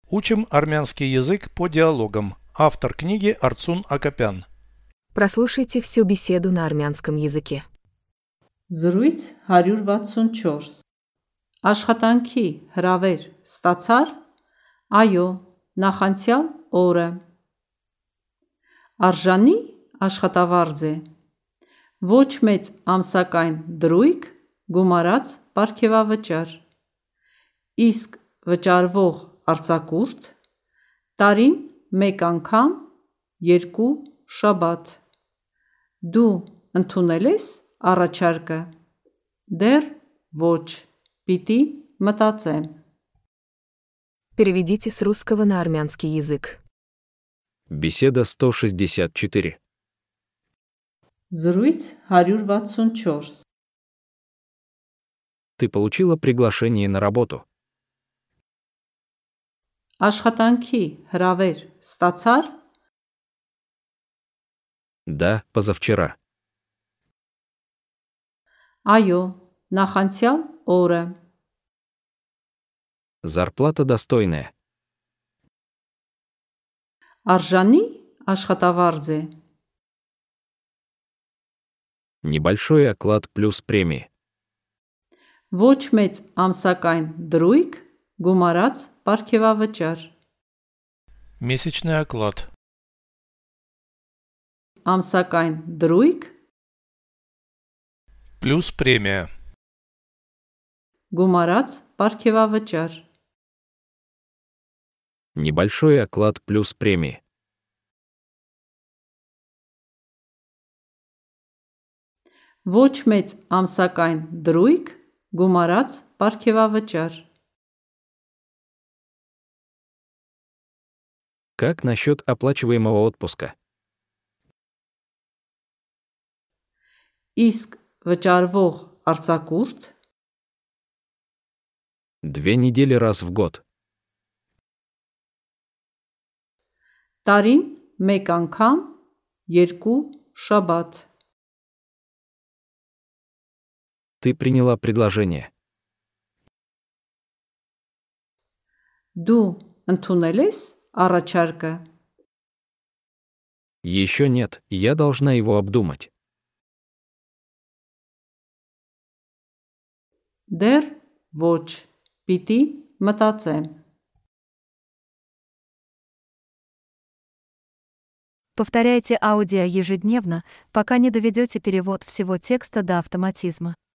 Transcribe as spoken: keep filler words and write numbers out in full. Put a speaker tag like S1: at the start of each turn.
S1: Учим армянский язык по диалогам. Автор книги Арцун Акопян.
S2: Прослушайте всю беседу на армянском языке.
S3: Զրույց հարյուր վաթսունչորս Աշխատանքի հրավեր ստացար? Այո, նախանցյալ օրը։ Արժանի աշխատավարձ է։ Ոչ մեծ ամսական դրույք, գումարած պարգևավճար։ Իսկ վճարվող արձակուրդ՝ տարին մեկ անգամ, երկու շաբաթ։ Դու ընդունել ես առաջարկը։ Դեռ ոչ, պիտի մտածեմ։
S2: Переведите с русского на армянский язык.
S4: Беседа сто шестьдесят четыре.
S3: Զրույց հարյուր վաթսունչորս
S4: Ты получила приглашение на работу?
S3: Աշխատանքի հրավեր ստացար?
S4: Да, позавчера.
S3: Այո, նախանցյալ օրը։
S4: Зарплата достойная.
S3: Արժանի աշխատավարձ է։
S4: Небольшой оклад плюс премии.
S3: Ոչ մեծ ամսական դրույք, գումարած պարգևավճար։
S1: Месячный оклад.
S3: Ամսական դրույք,
S1: Плюс премия.
S3: գումարած պարգևավճար։
S4: Небольшой оклад плюс премии.
S3: Ոչ մեծ ամսական դրույք, գումարած պարգևավճար։
S4: Как насчет оплачиваемого отпуска?
S3: Իսկ վճարվող արձակուրդ՝
S4: Две недели раз в год.
S3: տարին մեկ անգամ, երկու շաբաթ։
S4: Ты приняла предложение.
S3: Դու ընդունել ես առաջարկը։
S4: Еще нет, я должна его обдумать.
S3: Դեռ ոչ, պիտի մտածեմ։
S5: Повторяйте аудио ежедневно, пока не доведете перевод всего текста до автоматизма.